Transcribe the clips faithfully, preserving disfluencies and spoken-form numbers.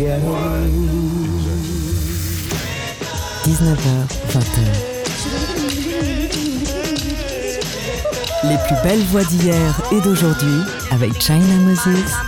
dix-neuf heures, vingt heures. Les plus belles voix d'hier et d'aujourd'hui avec China Moses.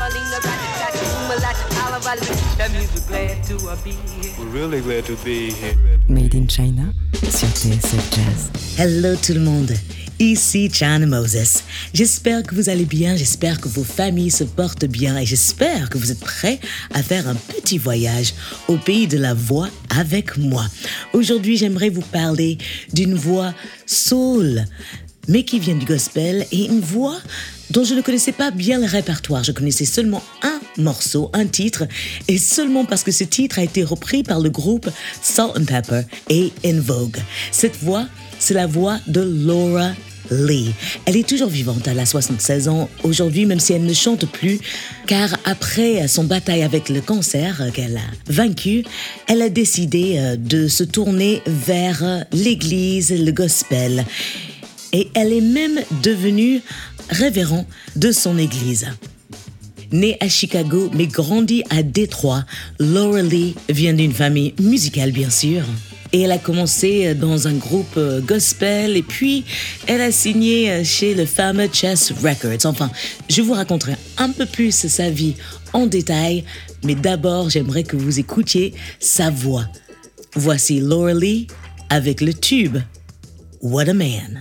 We're really glad to be here. Made in China sur T S F Jazz. Hello tout le monde, ici China Moses. J'espère que vous allez bien, j'espère que vos familles se portent bien et j'espère que vous êtes prêts à faire un petit voyage au pays de la voix avec moi. Aujourd'hui, j'aimerais vous parler d'une voix soul, mais qui vient du gospel, et une voix dont je ne connaissais pas bien le répertoire. Je connaissais seulement un morceau, un titre, et seulement parce que ce titre a été repris par le groupe Salt and Pepper et En Vogue. Cette voix, c'est la voix de Laura Lee. Elle est toujours vivante, elle a soixante-seize ans aujourd'hui, même si elle ne chante plus, car après son bataille avec le cancer qu'elle a vaincu, elle a décidé de se tourner vers l'église, le gospel. Et elle est même devenue révérend de son église. Née à Chicago, mais grandie à Détroit, Laura Lee vient d'une famille musicale, bien sûr. Et elle a commencé dans un groupe gospel et puis elle a signé chez le fameux Chess Records. Enfin, je vous raconterai un peu plus sa vie en détail, mais d'abord, j'aimerais que vous écoutiez sa voix. Voici Laura Lee avec le tube What a Man.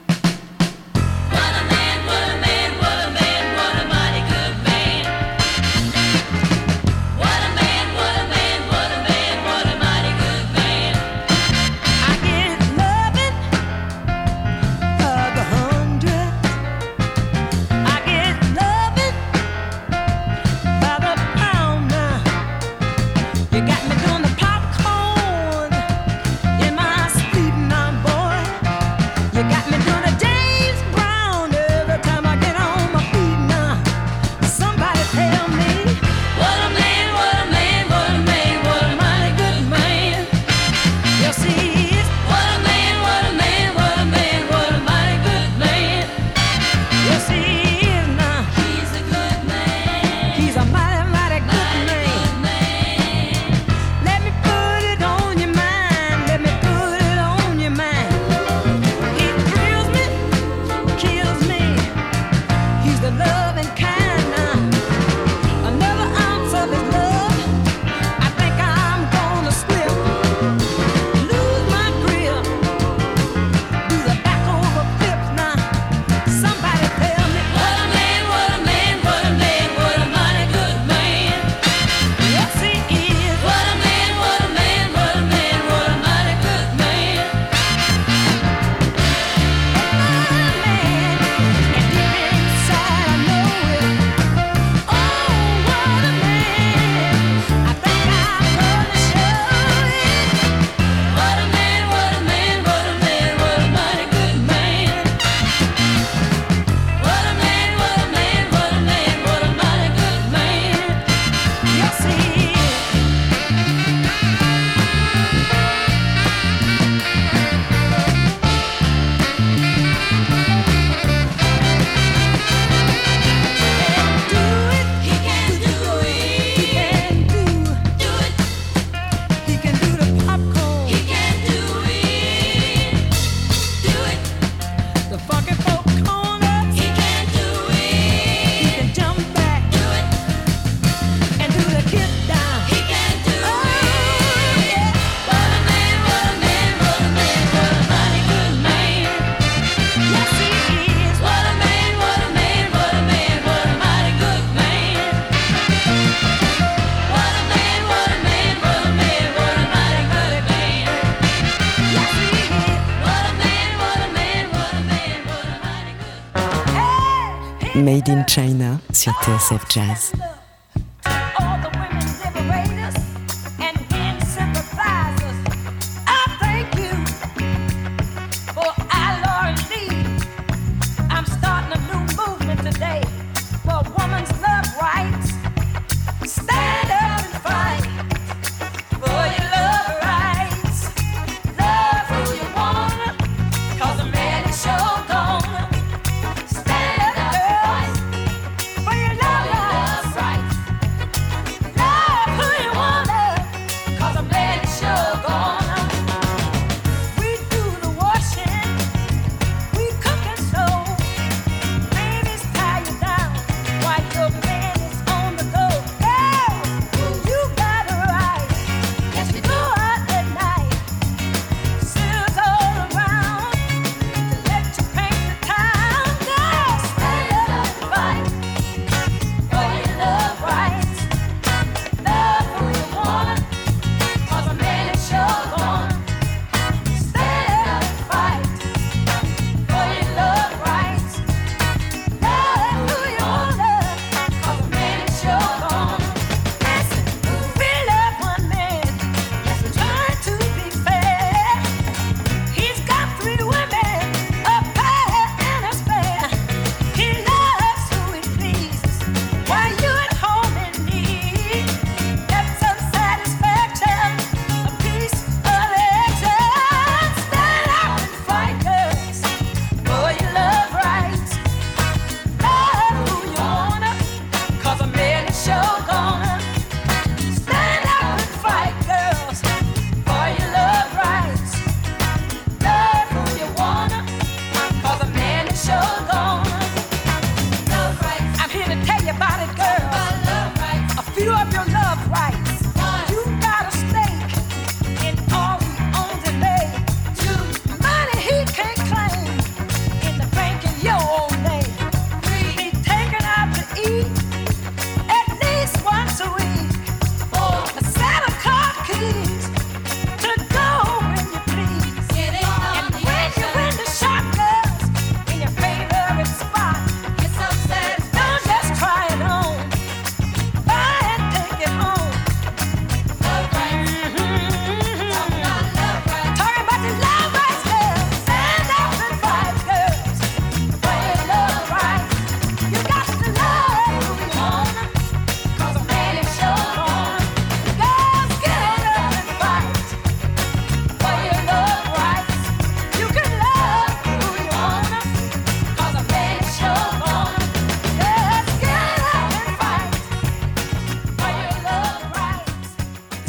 Made in China sur T S F Jazz. Right.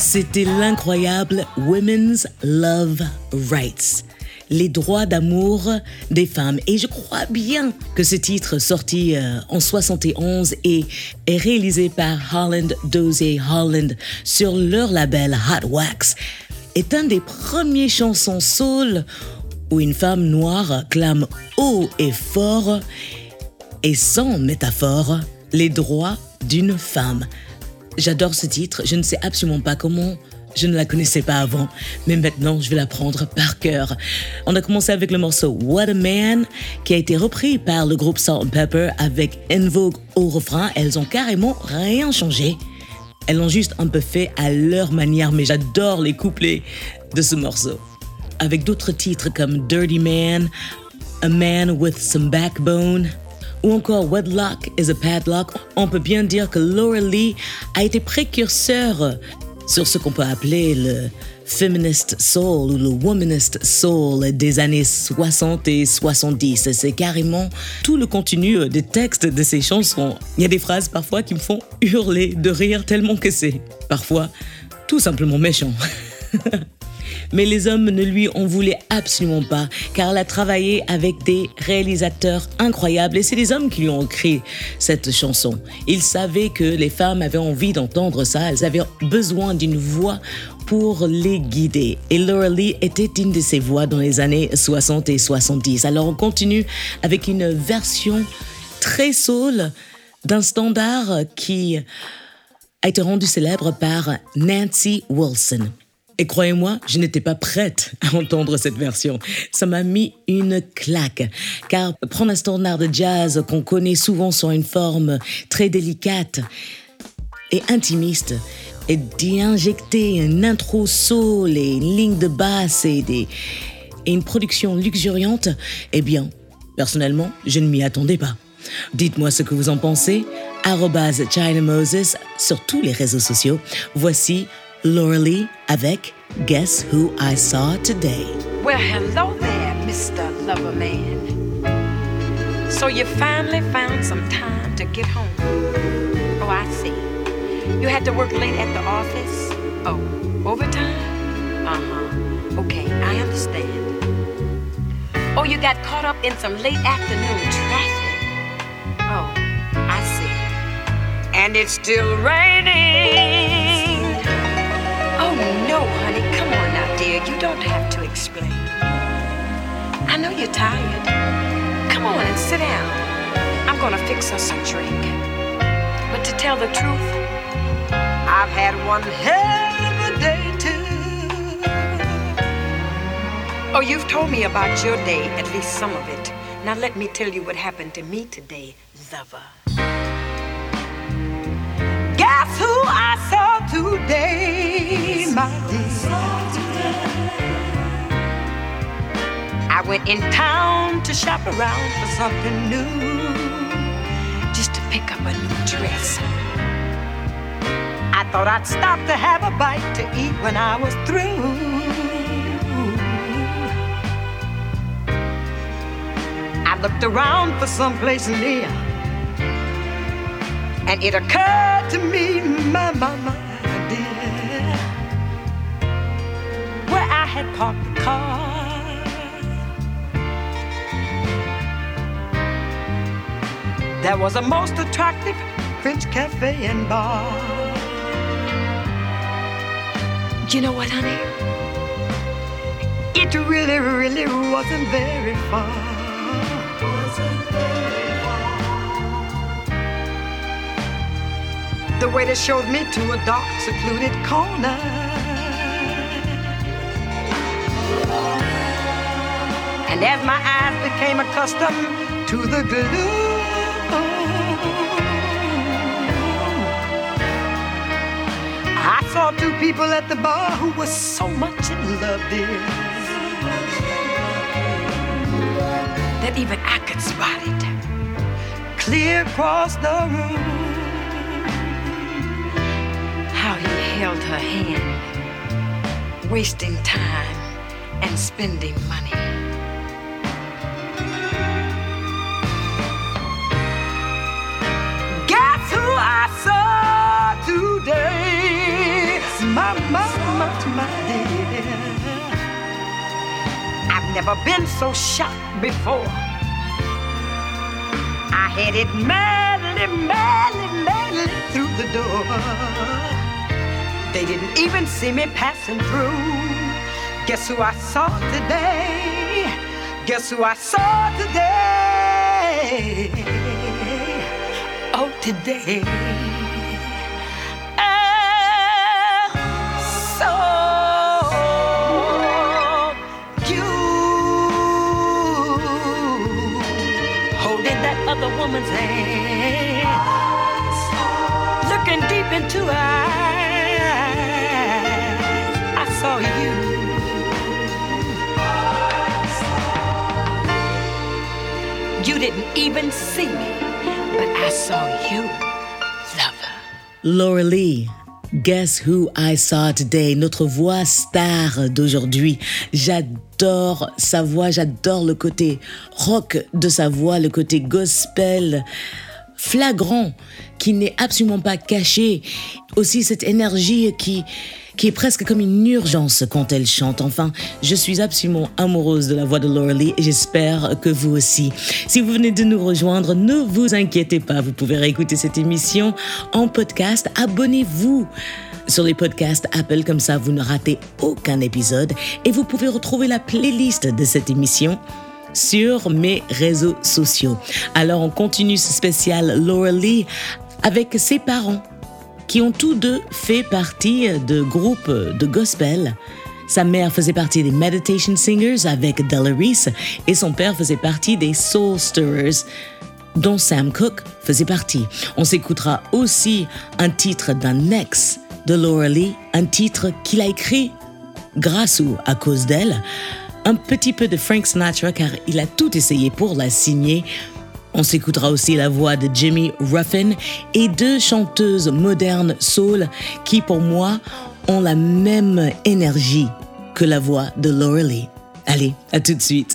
C'était l'incroyable Women's Love Rights, les droits d'amour des femmes. Et je crois bien que ce titre, sorti euh, en soixante et onze et est réalisé par Holland Dozier Holland sur leur label Hot Wax, est un des premiers chansons soul où une femme noire clame haut et fort et sans métaphore les droits d'une femme. J'adore ce titre, je ne sais absolument pas comment, je ne la connaissais pas avant, mais maintenant je vais l'apprendre par cœur. On a commencé avec le morceau What a Man, qui a été repris par le groupe Salt and Pepper avec En Vogue au refrain. Elles ont carrément rien changé. Elles l'ont juste un peu fait à leur manière, mais j'adore les couplets de ce morceau. Avec d'autres titres comme Dirty Man, A Man with Some Backbone, ou encore Wedlock is a Padlock, on peut bien dire que Laura Lee a été précurseur sur ce qu'on peut appeler le feminist soul ou le womanist soul des années soixante et soixante-dix. C'est carrément tout le contenu des textes de ces chansons. Il y a des phrases parfois qui me font hurler de rire tellement que c'est parfois tout simplement méchant. Mais les hommes ne lui en voulaient absolument pas, car elle a travaillé avec des réalisateurs incroyables et c'est les hommes qui lui ont écrit cette chanson. Ils savaient que les femmes avaient envie d'entendre ça, elles avaient besoin d'une voix pour les guider. Et Laura Lee était une de ces voix dans les années soixante et soixante-dix. Alors on continue avec une version très soul d'un standard qui a été rendu célèbre par Nancy Wilson. Et croyez-moi, je n'étais pas prête à entendre cette version. Ça m'a mis une claque. Car prendre un standard de jazz qu'on connaît souvent sur une forme très délicate et intimiste, et d'y injecter une intro soul et une ligne de basse et, des, et une production luxuriante, eh bien, personnellement, je ne m'y attendais pas. Dites-moi ce que vous en pensez. arobase China Moses sur tous les réseaux sociaux. Voici Laura Lee avec Guess Who I Saw Today. Well, hello there, Mister Lover Man. So you finally found some time to get home. Oh, I see. You had to work late at the office? Oh, overtime? Uh-huh. Okay, I understand. Oh, you got caught up in some late afternoon traffic? Oh, I see. And it's still raining. Oh, no, honey. Come on now, dear. You don't have to explain. I know you're tired. Come on and sit down. I'm gonna fix us a drink. But to tell the truth, I've had one hell of a day, too. Oh, you've told me about your day, at least some of it. Now let me tell you what happened to me today, lover. Guess who I saw today, my dear? I went in town to shop around for something new, just to pick up a new dress. I thought I'd stop to have a bite to eat when I was through. I looked around for someplace near, and it occurred to me, my, my, my dear, where I had parked the car. There was a most attractive French cafe and bar. You know what, honey? It really, really wasn't very far. Wasn't very far. The waiter showed me to a dark, secluded corner. And as my eyes became accustomed to the gloom, I saw two people at the bar who were so much in love, dear, that even I could spot it clear across the room. How he held her hand, wasting time and spending money. Guess who I saw today? My, my never been so shocked before. I headed madly, madly, madly through the door. They didn't even see me passing through. Guess who I saw today? Guess who I saw today? Oh, today. Other woman's hand, looking deep into her eyes, I saw you. You didn't even see me, but I saw you, lover. Laura Lee. Guess Who I Saw Today, notre voix star d'aujourd'hui. J'adore sa voix, j'adore le côté rock de sa voix, le côté gospel flagrant qui n'est absolument pas caché. Aussi cette énergie qui, qui est presque comme une urgence quand elle chante. Enfin, je suis absolument amoureuse de la voix de Laura Lee et j'espère que vous aussi. Si vous venez de nous rejoindre, ne vous inquiétez pas, vous pouvez réécouter cette émission en podcast. Abonnez-vous sur les podcasts Apple, comme ça vous ne ratez aucun épisode. Et vous pouvez retrouver la playlist de cette émission sur mes réseaux sociaux. Alors on continue ce spécial Laura Lee avec ses parents qui ont tous deux fait partie de groupes de gospel. Sa mère faisait partie des Meditation Singers avec Della Reese et son père faisait partie des Soul Stirrers dont Sam Cooke faisait partie. On s'écoutera aussi un titre d'un ex de Laura Lee, un titre qu'il a écrit grâce ou à cause d'elle, un petit peu de Frank Sinatra car il a tout essayé pour la signer. On s'écoutera aussi la voix de Jimmy Ruffin et deux chanteuses modernes soul qui, pour moi, ont la même énergie que la voix de Laura Lee. Allez, à tout de suite.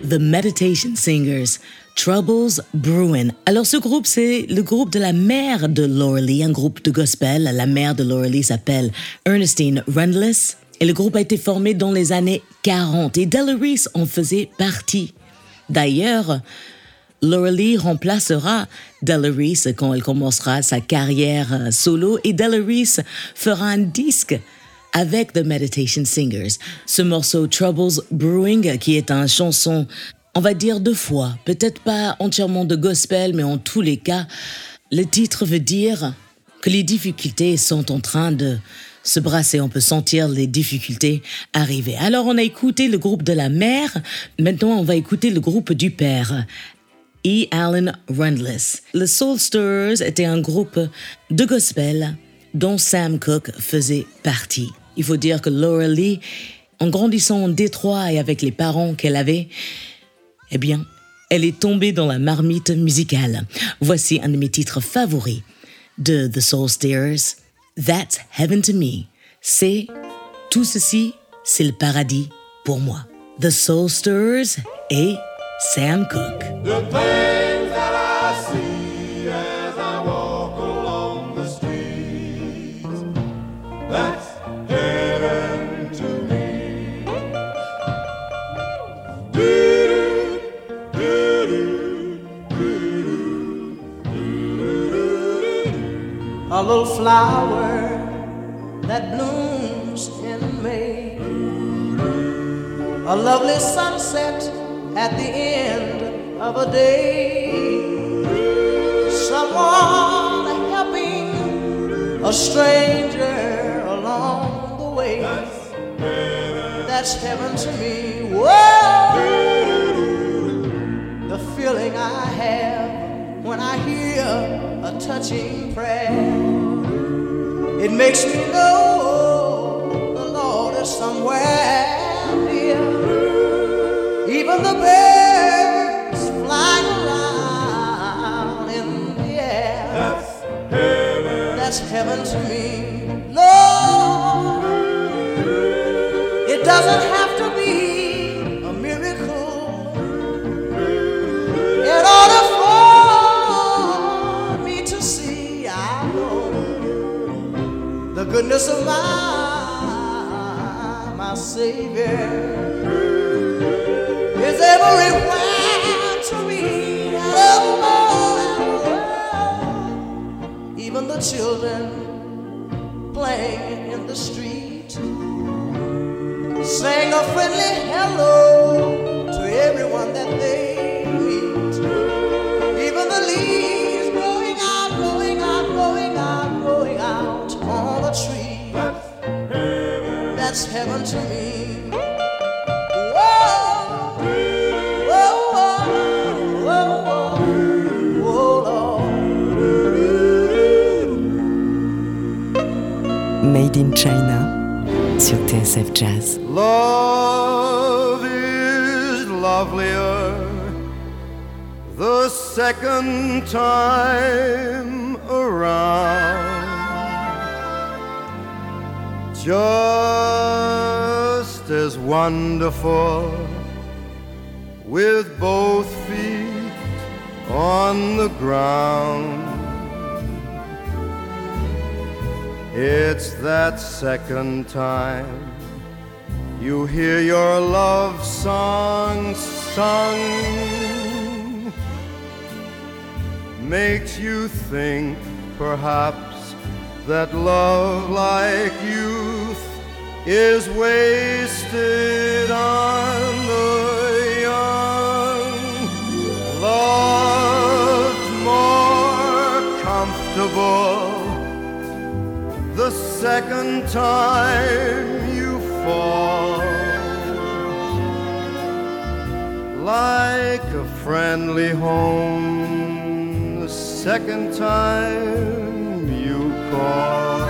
The Meditation Singers, Troubles Brewing. Alors ce groupe, c'est le groupe de la mère de Laura Lee, un groupe de gospel. La mère de Laura Lee s'appelle Ernestine Rundles. Et le groupe a été formé dans les années quarante et Della Reese en faisait partie. D'ailleurs, Laura Lee remplacera Della Reese quand elle commencera sa carrière solo et Della Reese fera un disque avec The Meditation Singers. Ce morceau Troubles Brewing, qui est une chanson, on va dire deux fois, peut-être pas entièrement de gospel, mais en tous les cas, le titre veut dire que les difficultés sont en train de se brasser. On peut sentir les difficultés arriver. Alors on a écouté le groupe de la mère, maintenant on va écouter le groupe du père. E. Allen Rundles. Le Soul Stirrers était un groupe de gospel dont Sam Cooke faisait partie. Il faut dire que Laura Lee, en grandissant en Détroit et avec les parents qu'elle avait, eh bien, elle est tombée dans la marmite musicale. Voici un de mes titres favoris de The Soul Stirrers, That's Heaven to Me. C'est tout ceci, c'est le paradis pour moi. The Soul Stirrers et Sam Cooke. The things that I see as I walk along the streets, that's heaven to me. A little flower that blooms in May, a lovely sunset at the end of a day, someone helping a stranger along the way. That's heaven to me. Whoa, the feeling I have when I hear a touching prayer, it makes me know the Lord is somewhere near. Even the birds flying around in the air, that's heaven, that's heaven to me. Lord, it doesn't have to be a miracle in order for me to see, I know, the goodness of my, my Savior is everywhere to me. Oh, even the children playing in the street sing a friendly hello to everyone that they meet. Even the leaves growing out, growing out, growing out, growing out on a tree. That's heaven to me. Made in China sur T S F Jazz. Love is lovelier the second time around, just as wonderful with both feet on the ground. It's that second time you hear your love song sung, makes you think perhaps that love like youth is wasted on the young. Loved more comfortable the second time you fall, like a friendly home the second time you call.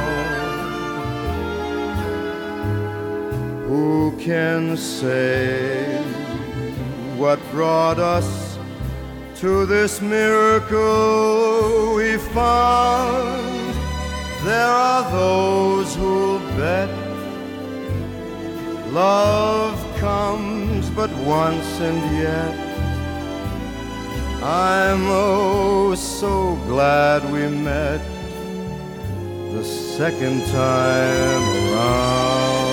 Who can say what brought us to this miracle we found? There are those who'll bet love comes but once, and yet I'm oh so glad we met the second time around.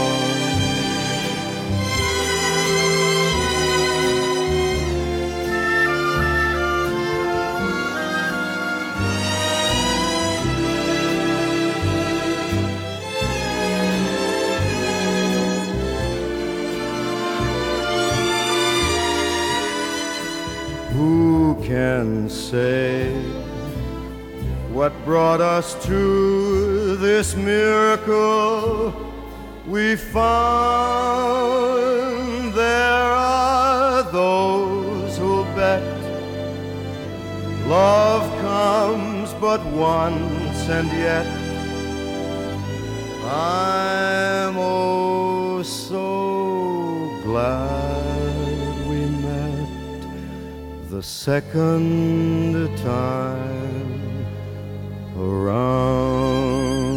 Who can say what brought us to this miracle we found? There are those who'll bet love comes but once, and yet I'm oh so glad we met the second time around.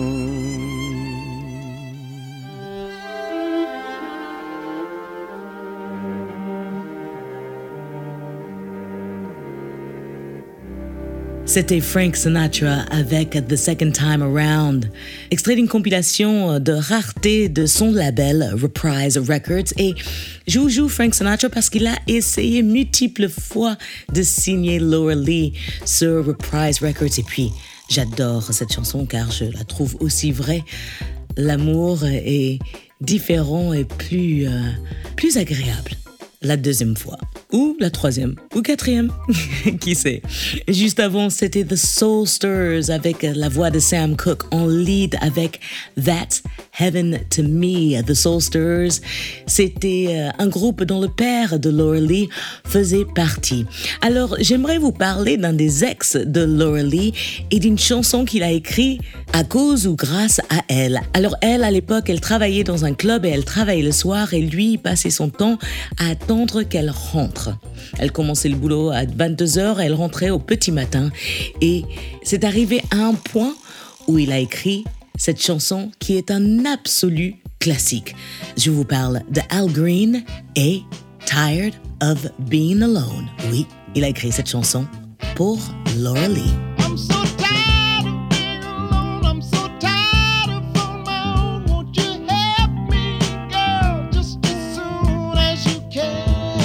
C'était Frank Sinatra avec The Second Time Around, extrait d'une compilation de rareté de son label Reprise Records. Et je vous joue Frank Sinatra parce qu'il a essayé multiples fois de signer Laura Lee sur Reprise Records. Et puis, j'adore cette chanson car je la trouve aussi vraie. L'amour est différent et plus, euh, plus agréable la deuxième fois, ou la troisième, ou quatrième, qui sait. Juste avant, c'était The Soulsters avec la voix de Sam Cooke en lead avec That's Heaven to Me. The Soulsters, c'était un groupe dont le père de Laura Lee faisait partie. Alors, j'aimerais vous parler d'un des ex de Laura Lee et d'une chanson qu'il a écrite à cause ou grâce à elle. Alors, elle, à l'époque, elle travaillait dans un club et elle travaillait le soir et lui, il passait son temps à attendre qu'elle rentre. Elle commençait le boulot à vingt-deux heures et elle rentrait au petit matin. Et c'est arrivé à un point où il a écrit cette chanson qui est un absolu classique. Je vous parle de Al Green et Tired of Being Alone. Oui, il a écrit cette chanson pour Laura Lee. I'm so tired of being alone. I'm so tired of on my own. Won't you help me, girl, just as soon as you can?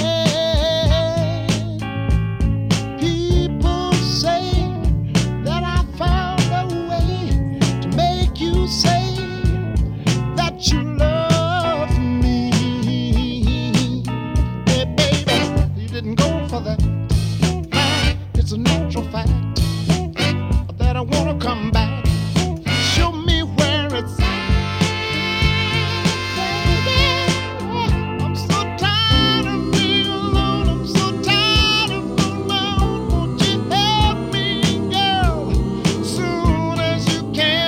People say that I found a way to make you say that you love me. Hey, baby, you didn't go for that. It's a natural fact that I wanna come back. Show me where it's at, baby. I'm so tired of being alone. I'm so tired of being alone. Won't you help me, girl, soon as you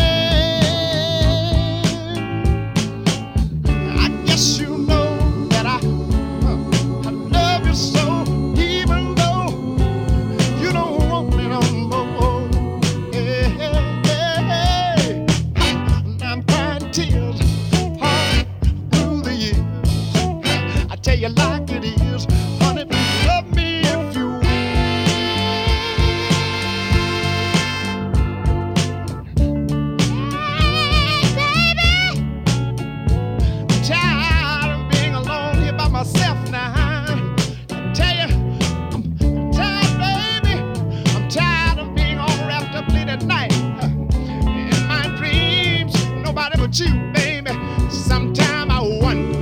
can? I guess you know that I, I love you so, even though you don't want me no more. Hey, hey, hey. I'm crying tears all through the years. I tell you like it is, honey, love me if you will. Hey, baby, I'm tired of being alone here by myself now. I tell you, I'm tired, baby. I'm tired of being all wrapped up late at night. In my dreams, nobody but you, baby. Sometime I wonder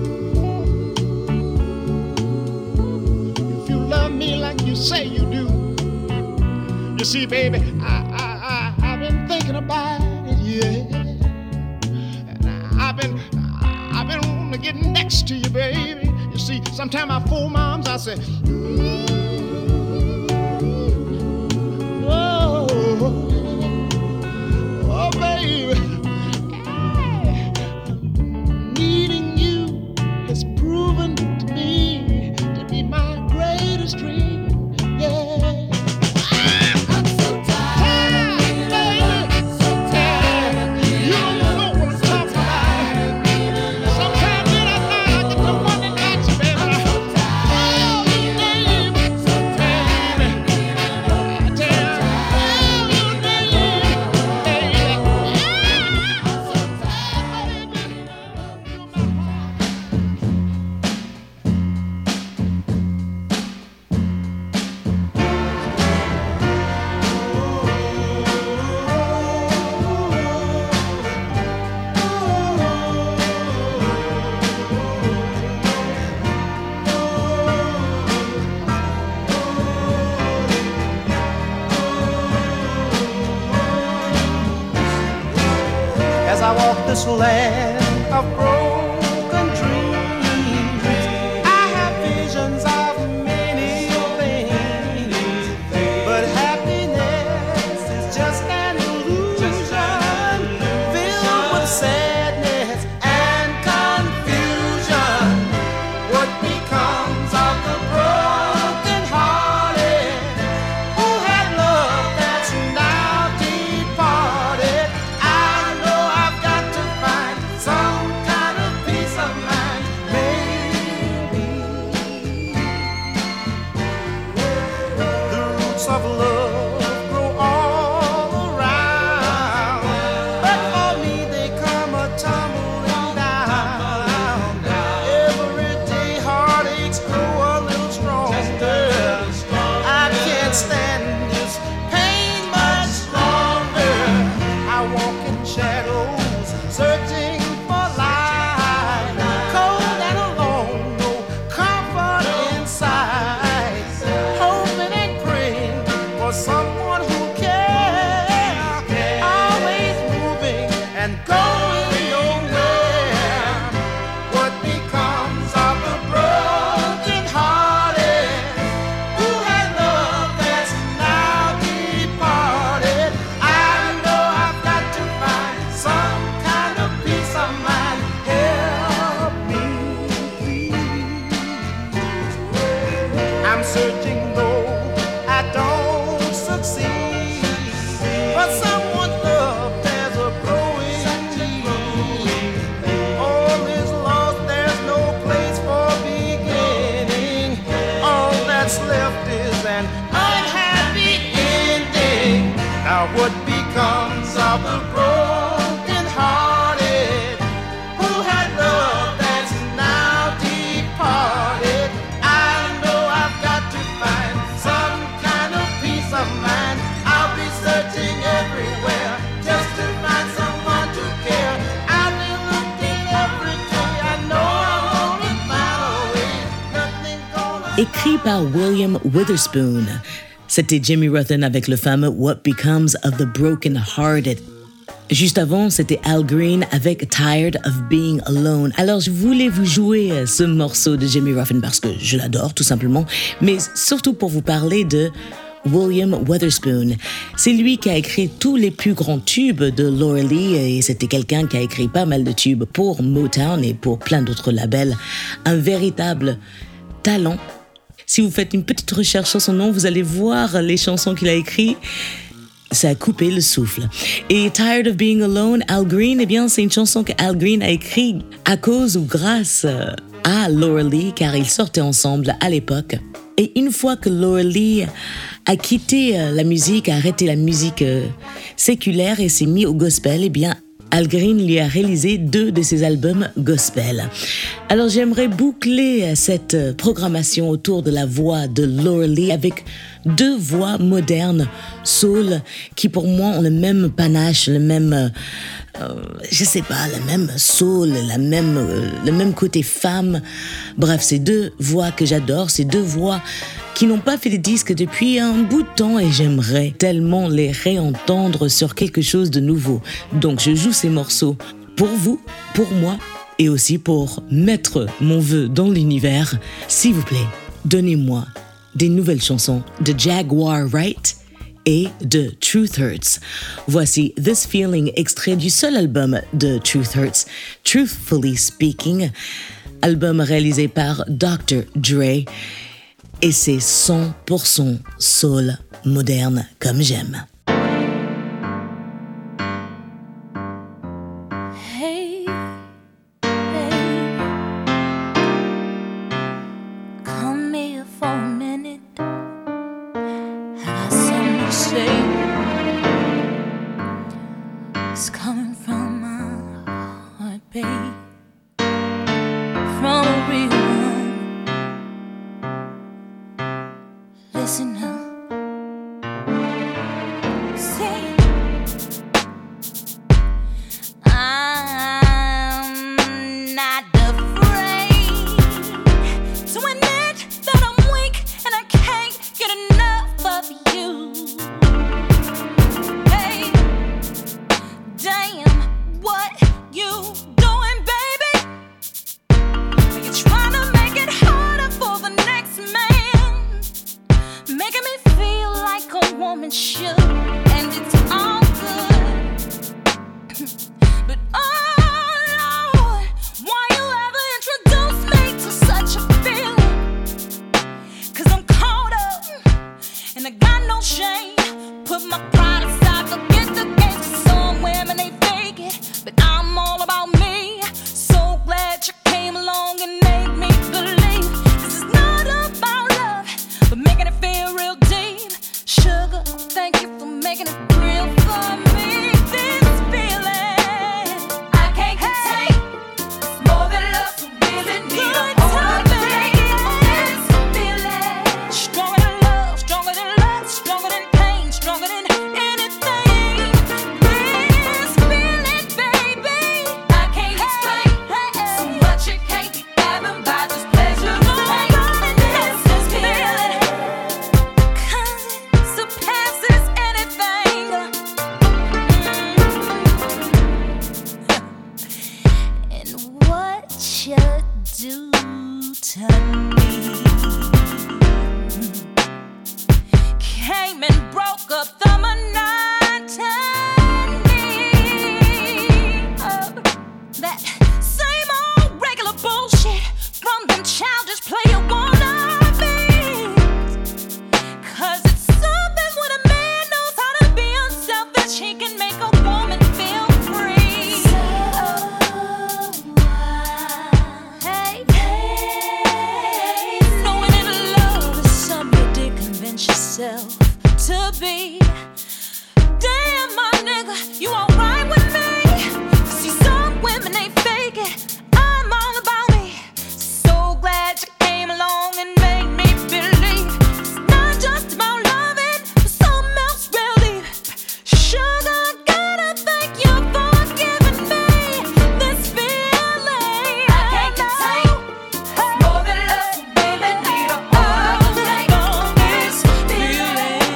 if you love me like you say you do. You see, baby, I, I, I, I've been thinking about it, yeah. And I've been, I've been wanting to get next to you, baby. You see, sometimes I fool my arms, I say, oh, oh, baby, hey, needing you has proven to me to be my greatest dream, yeah. I'm so tired, baby, so tired. You don't know what I'm talking about. Sometimes in at night I get to wondering about you, baby. this land of broken dreams. I have visions of many things, but happiness is just an illusion filled with sadness and confusion. What becomes of the broken hearted who had love that's now departed? I know I've got to find some kind of peace of mind, maybe. The roots of love grow all around, but for me they come a tumbling down. Every day heartaches grow a little stronger. I can't stand this pain much longer. I walk in shadows, searching for light, cold and alone, no comfort inside, hoping and praying for someone who cares, always moving and going nowhere. What becomes of the broken hearted who had love that's now departed? I know I've got to find some kind of peace of mind. Help me, please. I'm searching though I don't succeed, but someone's love there's a growing need. All is lost, there's no place for beginning. All that's left is an unhappy ending. Now what becomes of the broken hearted who had love that's now departed? I know I've got to find some kind of peace of mind. I'll be searching everywhere just to find someone to care. I've been looking every day. I know I'm gonna find a way. Nothing gonna Écrit par William Witherspoon. C'était Jimmy Ruffin avec le fameux What Becomes of the Broken Hearted. Juste avant, c'était Al Green avec Tired of Being Alone. Alors, je voulais vous jouer ce morceau de Jimmy Ruffin parce que je l'adore, tout simplement, mais surtout pour vous parler de William Witherspoon. C'est lui qui a écrit tous les plus grands tubes de Laura Lee et c'était quelqu'un qui a écrit pas mal de tubes pour Motown et pour plein d'autres labels. Un véritable talent. Si vous faites une petite recherche sur son nom, vous allez voir les chansons qu'il a écrites. Ça a coupé le souffle. Et Tired of Being Alone, Al Green, eh bien, c'est une chanson que Al Green a écrite à cause ou grâce à Laura Lee, car ils sortaient ensemble à l'époque. Et une fois que Laura Lee a quitté la musique, a arrêté la musique séculaire et s'est mis au gospel, eh bien, Al Green lui a réalisé deux de ses albums gospel. Alors j'aimerais boucler cette programmation autour de la voix de Laura Lee avec deux voix modernes, soul, qui pour moi ont le même panache, le même, euh, je sais pas, le même soul, la même, euh, le même côté femme. Bref, ces deux voix que j'adore, ces deux voix qui n'ont pas fait de disques depuis un bout de temps et j'aimerais tellement les réentendre sur quelque chose de nouveau. Donc je joue ces morceaux pour vous, pour moi et aussi pour mettre mon vœu dans l'univers. S'il vous plaît, donnez-moi des nouvelles chansons de Jaguar Wright et de Truth Hurts. Voici This Feeling, extrait du seul album de Truth Hurts, Truthfully Speaking, album réalisé par docteur Dre. Et c'est cent pour cent soul moderne comme j'aime. Hey, hey, come here for a minute. I got something to say. It's coming from my heart, babe. From a real one. Listen now. Say, I'm not afraid to admit that I'm weak and I can't get enough of you. Hey, damn what you with sugar, and it's all good. But oh Lord, why you ever introduce me to such a feeling? 'Cause I'm caught up, and I got no shame. Put my pride aside, forget the games. Some women, they fake it, but I'm all about me. So glad you came along and made me believe this is not about love, but making it feel real deep. Sugar, thank you for making it real for me. This feeling I can't contain. It's more than love, so really need a hold of me. This feeling stronger than love, stronger than love, stronger than pain, stronger than anything. This feeling, baby, I can't explain. So much it can't be fathomed by this pleasure of pain. This is feeling, 'cause it surpasses anything. And what you do to me came and broke up the monotony of that same old regular bullshit from them childish player wannabes. 'Cause it's something when a man knows how to be unselfish, he can make a woman feel free. So hey, hey, knowing that love is something you did convince yourself to be. Damn, my nigga, you alright with me? See, some women, they fake it. I'm all about me. So glad you came along and made me believe it's not just about loving, but something else real deep. Sugar, gotta thank you for giving me this feeling I can't contain. It's more than love, so baby, need a hold of me. This feeling,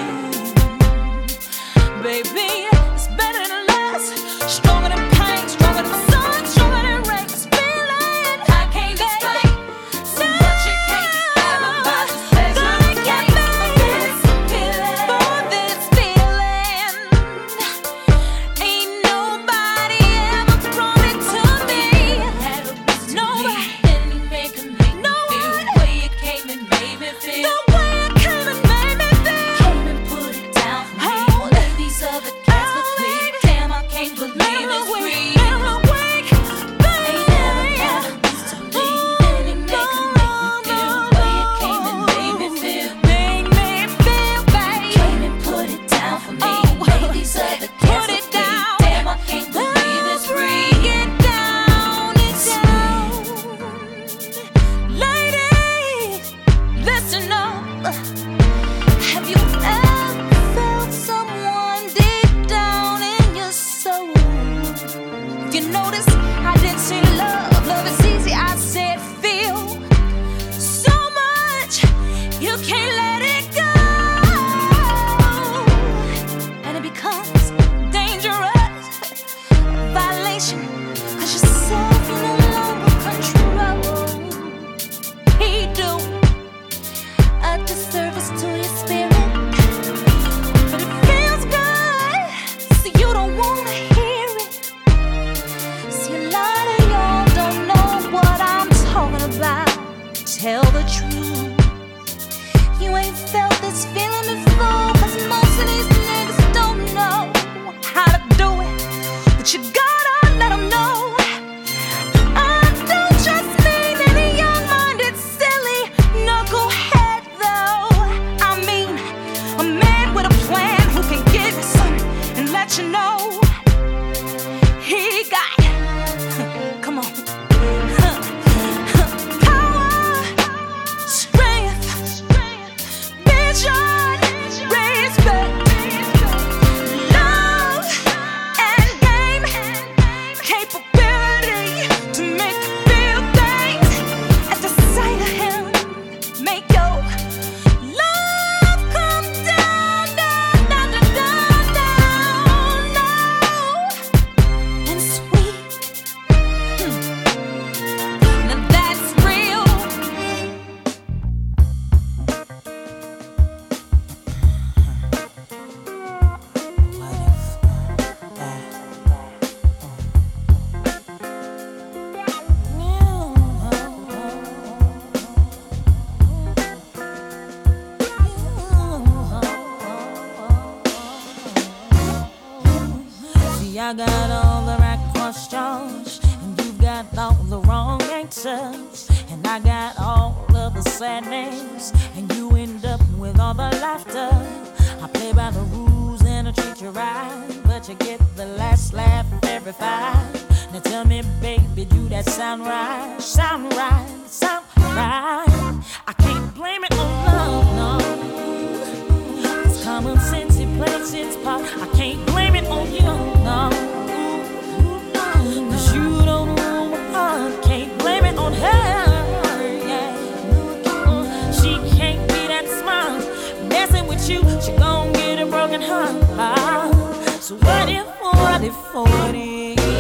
baby, it's better than less, stronger than pain, stronger than sun, stronger than rain. This feeling I can't explain. So much it can't be fathomed by this pleasure of pain. This feeling, for this feeling, ain't nobody ever brought it to me. Nobody, no one. The way you came and made me feel. The way you came and made me feel. Came and put it down for me. Lay these other cats for free. Damn, I can't believe it's free. I'm awake, baby. Ain't never ever used to leave. And it make 'em make me feel. The way you came and made me feel. Made me feel, baby. Came and put it down for me. Lay these other cats for free. Damn, I can't believe it's free. Get down, it's down. Ladies, listen up. Have you ever felt someone deep down in your soul? You notice I didn't say love, love is easy, I said feel. So much, you can't let it go. And it becomes dangerous, violation, 'cause yourself you no longer control. He do a disservice to your spirit, but it feels good, so you don't wanna hear it. See, a lot of y'all don't know what I'm talking about. Tell the truth, you ain't felt this feeling before, 'cause most of these niggas don't know how to do it, but you gotta let 'em know. I don't just mean any young-minded, silly knucklehead, though. I mean a man with a plan who can give you something and let you know he got, come on, power, strength, I got all the right questions, and you got all the wrong answers. And I got all of the sad names, and you end up with all the laughter. I play by the rules and I treat you right, but you get the last laugh every fight. Now tell me, baby, do that sound right? Sound right, sound right. I can't blame it on love, no. It's common sense, it plays its part. I can't blame it on you, no. Cause you don't know my heart. Can't blame it on her, yeah. She can't be that smart. Messing with you, she gon' get a broken heart. So what if, what if, what if?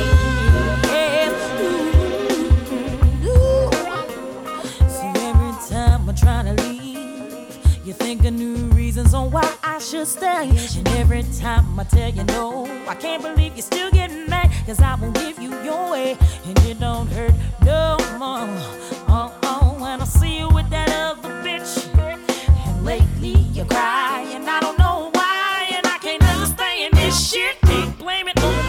Trying to leave, you think of new reasons on why I should stay. And every time I tell you no, I can't believe you're still getting mad. Cause I won't give you your way, and it don't hurt no more. Oh, oh, when I see you with that other bitch. And lately you cry, and I don't know why. And I can't understand this shit. Can't blame it on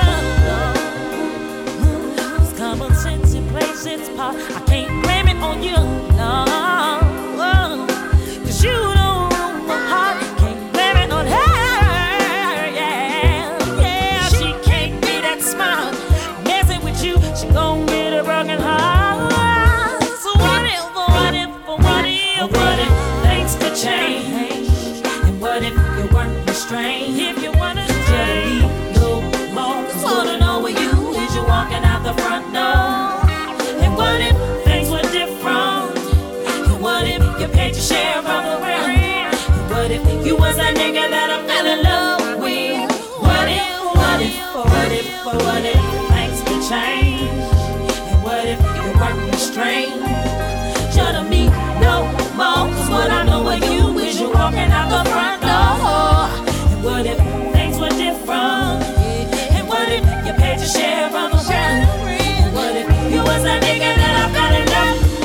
love. Cause common sense, it plays its part. I can't blame it on you, no. You don't know my heart, can't blame it on her, yeah, yeah. She can't be that smart, messing with you, she gon' get a broken heart. So what if, what if, what if, what if things could change? And what if you weren't restrained? If you wanna stay, no more, cause what I know with you is you walking out the front door. And what if things were different? And what if you paid your share of the what if you was a nigga that I fell in love with? What if, what if, what if, what if things could change? And what if you weren't restrained? Shouldn't be no more, cause what I know of you is you walking out the front door. And what if things were different? And what if you paid your share of the rent? And what if you was a nigga that I fell in love with?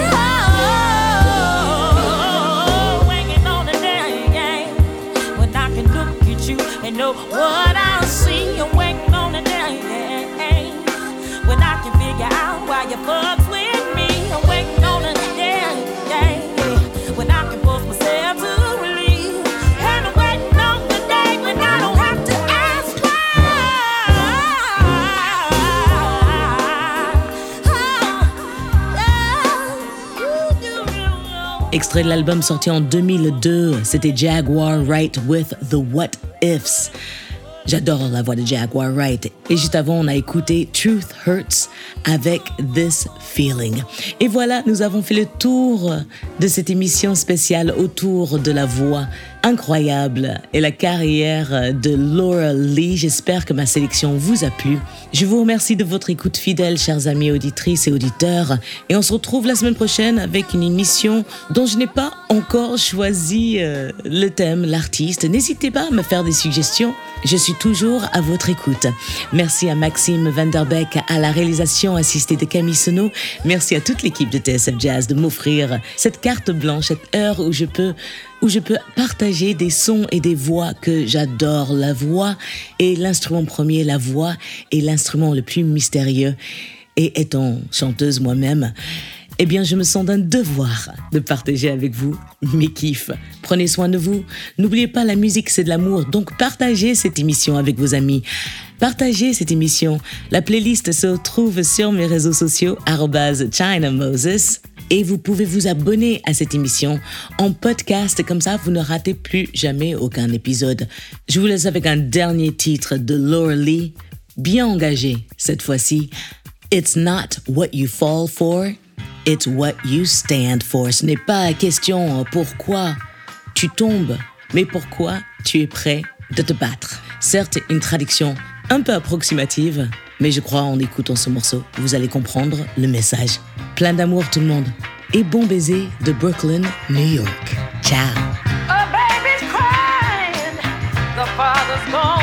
And know what I see, you're waiting on the day when I can figure out why you fucks with me. I'm waiting on the day when I can force myself to relieve. And I'm waiting on the day when I don't have to ask why. Extrait de l'album sorti en deux mille deux, c'était Jaguar Wright with The What Ifs. J'adore la voix de Jaguar Wright. Et juste avant, on a écouté Truth Hurts avec This Feeling. Et voilà, nous avons fait le tour de cette émission spéciale autour de la voix incroyable et la carrière de Laura Lee. J'espère que ma sélection vous a plu. Je vous remercie de votre écoute fidèle, chers amis auditrices et auditeurs. Et on se retrouve la semaine prochaine avec une émission dont je n'ai pas encore choisi euh, le thème, l'artiste. N'hésitez pas à me faire des suggestions. Je suis toujours à votre écoute. Merci à Maxime Vanderbeck à la réalisation assistée de Camille Senot. Merci à toute l'équipe de T S F Jazz de m'offrir cette carte blanche, cette heure où je peux, où je peux partager des sons et des voix que j'adore. La voix est l'instrument premier, la voix est l'instrument le plus mystérieux. Et étant chanteuse moi-même, eh bien, je me sens d'un devoir de partager avec vous mes kiffs. Prenez soin de vous. N'oubliez pas, la musique, c'est de l'amour. Donc, partagez cette émission avec vos amis. Partagez cette émission. La playlist se retrouve sur mes réseaux sociaux, arobase China Moses. Et vous pouvez vous abonner à cette émission en podcast. Comme ça, vous ne ratez plus jamais aucun épisode. Je vous laisse avec un dernier titre de Laura Lee, bien engagé cette fois-ci. It's not what you fall for. It's what you stand for. Ce n'est pas la question pourquoi tu tombes, mais pourquoi tu es prêt de te battre. Certes, une traduction un peu approximative, mais je crois en écoutant ce morceau, vous allez comprendre le message. Plein d'amour tout le monde. Et bon baiser de Brooklyn, New York. Ciao. A baby's crying, the father's gone.